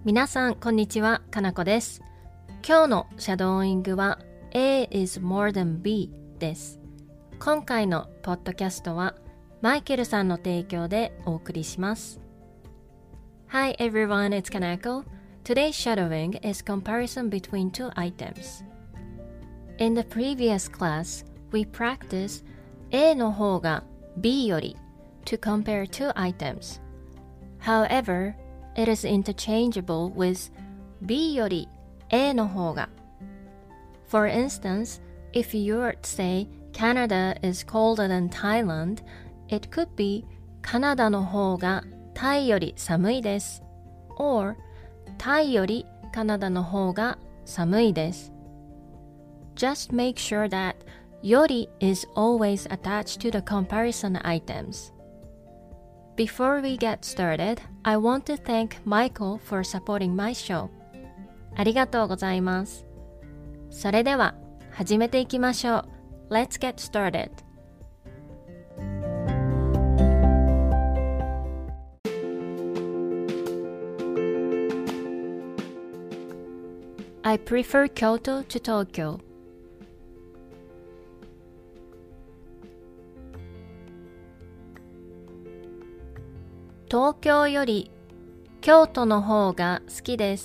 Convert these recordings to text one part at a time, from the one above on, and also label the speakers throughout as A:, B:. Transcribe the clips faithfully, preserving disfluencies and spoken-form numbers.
A: 皆さんこんにちは、かなこです。今日のシャドーイングは A is more than B です。今回のポッドキャストはマイケルさんの提供でお送りします。Hi everyone, it's Kanako. Today's shadowing is comparison between two items. In the previous class, we practiced A の方が B より to compare two items. However, it is interchangeable with B より A の方が。For instance, if you were to say Canada is colder than Thailand, it could be カナダの方がタイより寒いです。or タイよりカナダの方が寒いです。Just make sure that より is always attached to the comparison items.Before we get started, I want to thank Michael for supporting my show. ありがとうございます。それでは始めていきましょう。Let's get started. I prefer Kyoto to Tokyo.東京より京都の方が好きです。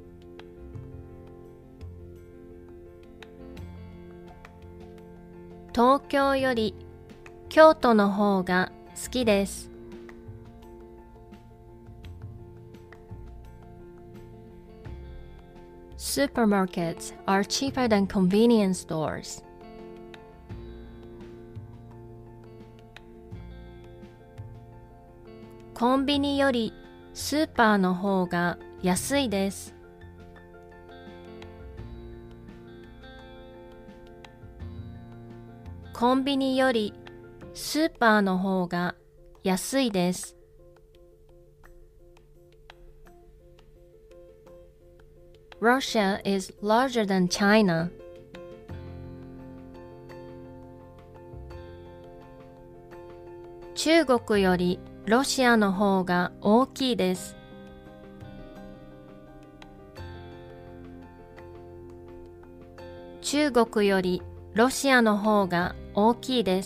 A: 東京より京都の方が好きです。Supermarkets are cheaper than convenience stores.コンビニよりスーパーの方が安いです。コンビニよりスーパーの方が安いです。Russia is larger than China. 中国よりロシアの方が大きいです。中国よりロシアの方が大きいです。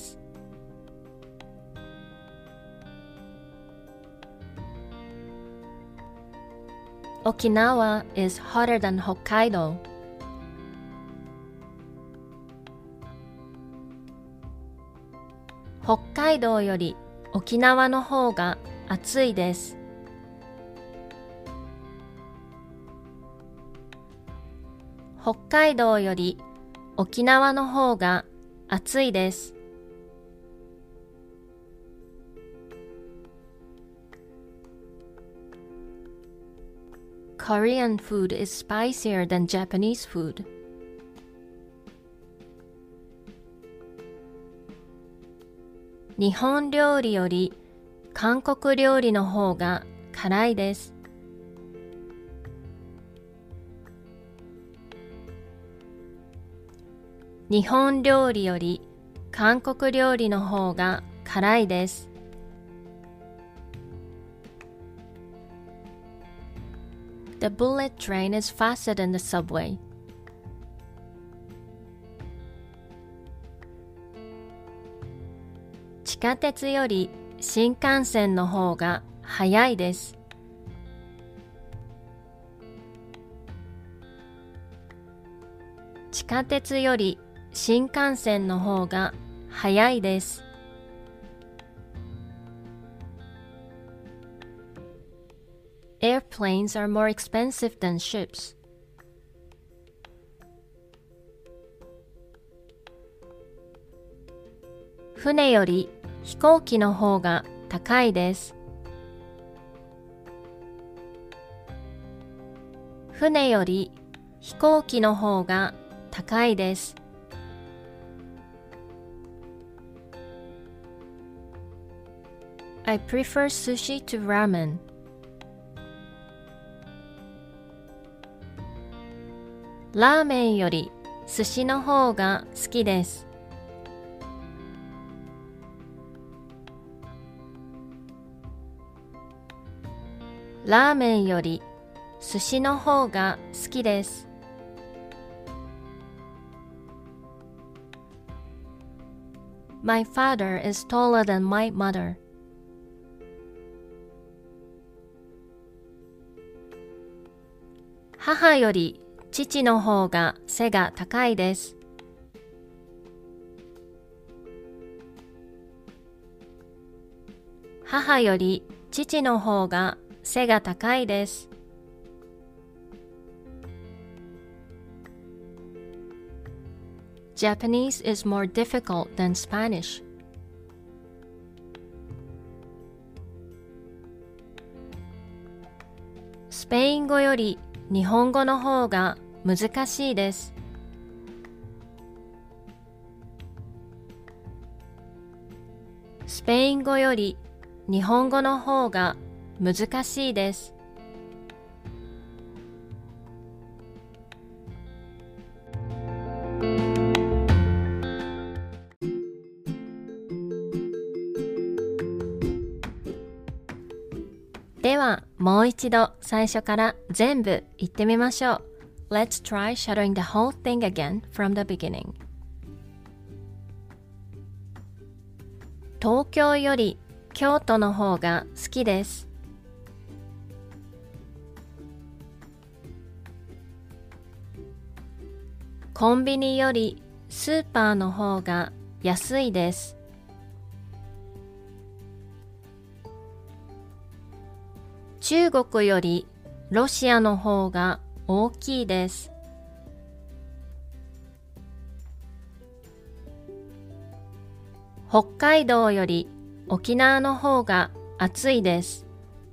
A: 沖縄 is hotter than Hokkaido. 北海道より沖縄の方が暑いです。北海道より沖縄の方が暑いです。Korean food is spicier than Japanese food. 日本料理より韓国料理の方が辛いです。日本料理より韓国料理の方が辛いです。The bullet train is faster than the subway. 地下鉄より新幹線の方が早いです。地下鉄より新幹線の方が早いです。Airplanes are more expensive than ships. 船より飛行機の方が高いです。船より飛行機の方が高いです。I prefer sushi to ramen. ラーメンより寿司の方が好きです。ラーメンより寿司の方が好きです。My father is taller than my mother. 母より父の方が背が高いです。母より父の方が背が高いです。Japanese is more difficult than Spanish. スペイン語より日本語の方が難しいです。スペイン語より日本語の方が難しいです。ではもう一度最初から全部言ってみましょう。Let's try shadowing the whole thing again from the beginning. 東京より京都の方が好きです。コンビニよりスーパーの方が安いです。中国よりロシアの方が大きいです。北海道より沖縄の方が暑いです。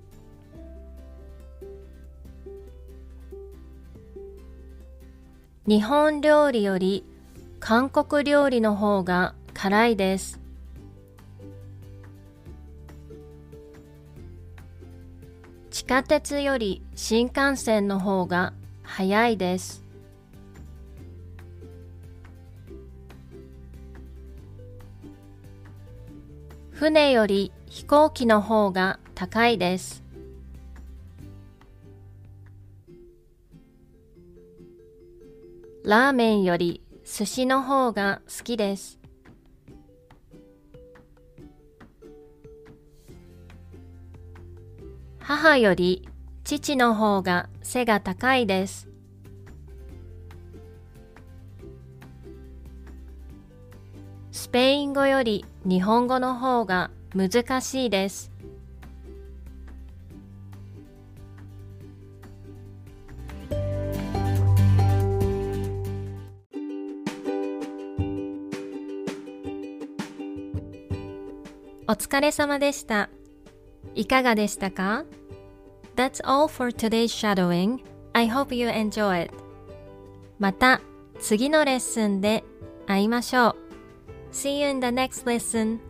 A: 日本料理より韓国料理の方が辛いです。地下鉄より新幹線の方が早いです。船より飛行機の方が高いです。ラーメンより寿司の方が好きです。母より父の方が背が高いです。スペイン語より日本語の方が難しいです。お疲れ様でした。いかがでしたか？ That's all for today's shadowing. I hope you enjoy it. また次のレッスンで会いましょう。See you in the next lesson.